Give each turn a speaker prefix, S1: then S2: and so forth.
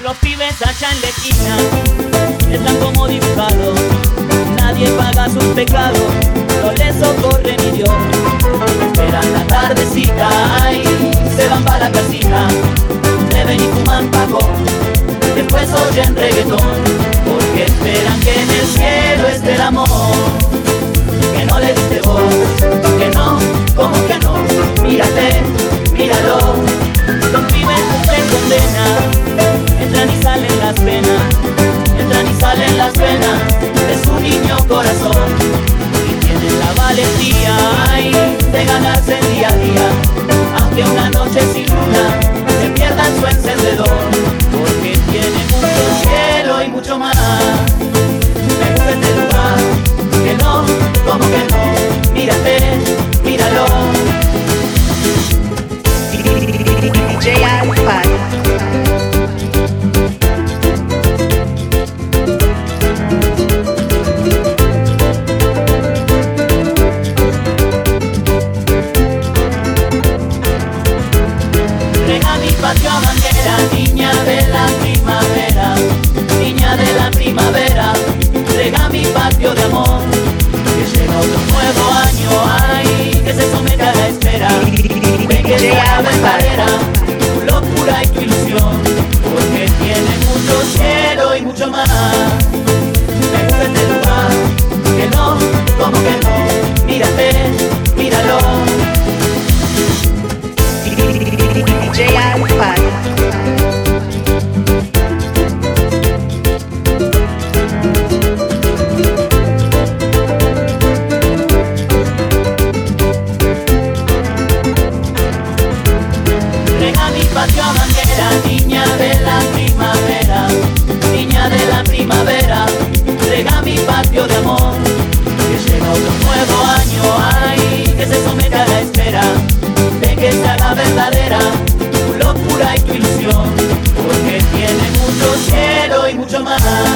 S1: Los pibes allá en la esquina están como dibujados, nadie paga sus pecados, no les socorre ni Dios. Esperan la tardecita y se van para la casita, beben y fuman paco, después oyen reggaetón, porque esperan que en el cielo esté el amor. Que no le diste vos, que no, como que no, mírate, míralo. Los pibes cumplen condena, entran y salen las penas, entran y salen las penas de su niño corazón. Y tienen la valentía ay, de ganarse el día a día, aunque una noche sin luna se pierdan su encendedor, porque tiene mucho cielo y mucho mar. Me gusta este lugar, que no, como que no, mírate, míralo.
S2: DJ Alpha.
S1: Rega mi patio a bandera, niña de la primavera, niña de la primavera, rega mi patio de amor, que llega otro nuevo año, ay, que se somete a la espera, ven que sea verdadera, tu locura y tu ilusión, porque tiene mucho cielo y mucho mar. Me gusta este lugar, que no, como que no, mírate, míralo.
S2: DJ Alpha.
S1: Rega mi patio a bandera, niña de la primavera, niña de la primavera, rega mi patio de amor, que llega otro nuevo año, ay, que se somete a la espera, de que se haga verdadera, tu locura y tu ilusión, porque tiene mucho cielo y mucho mar.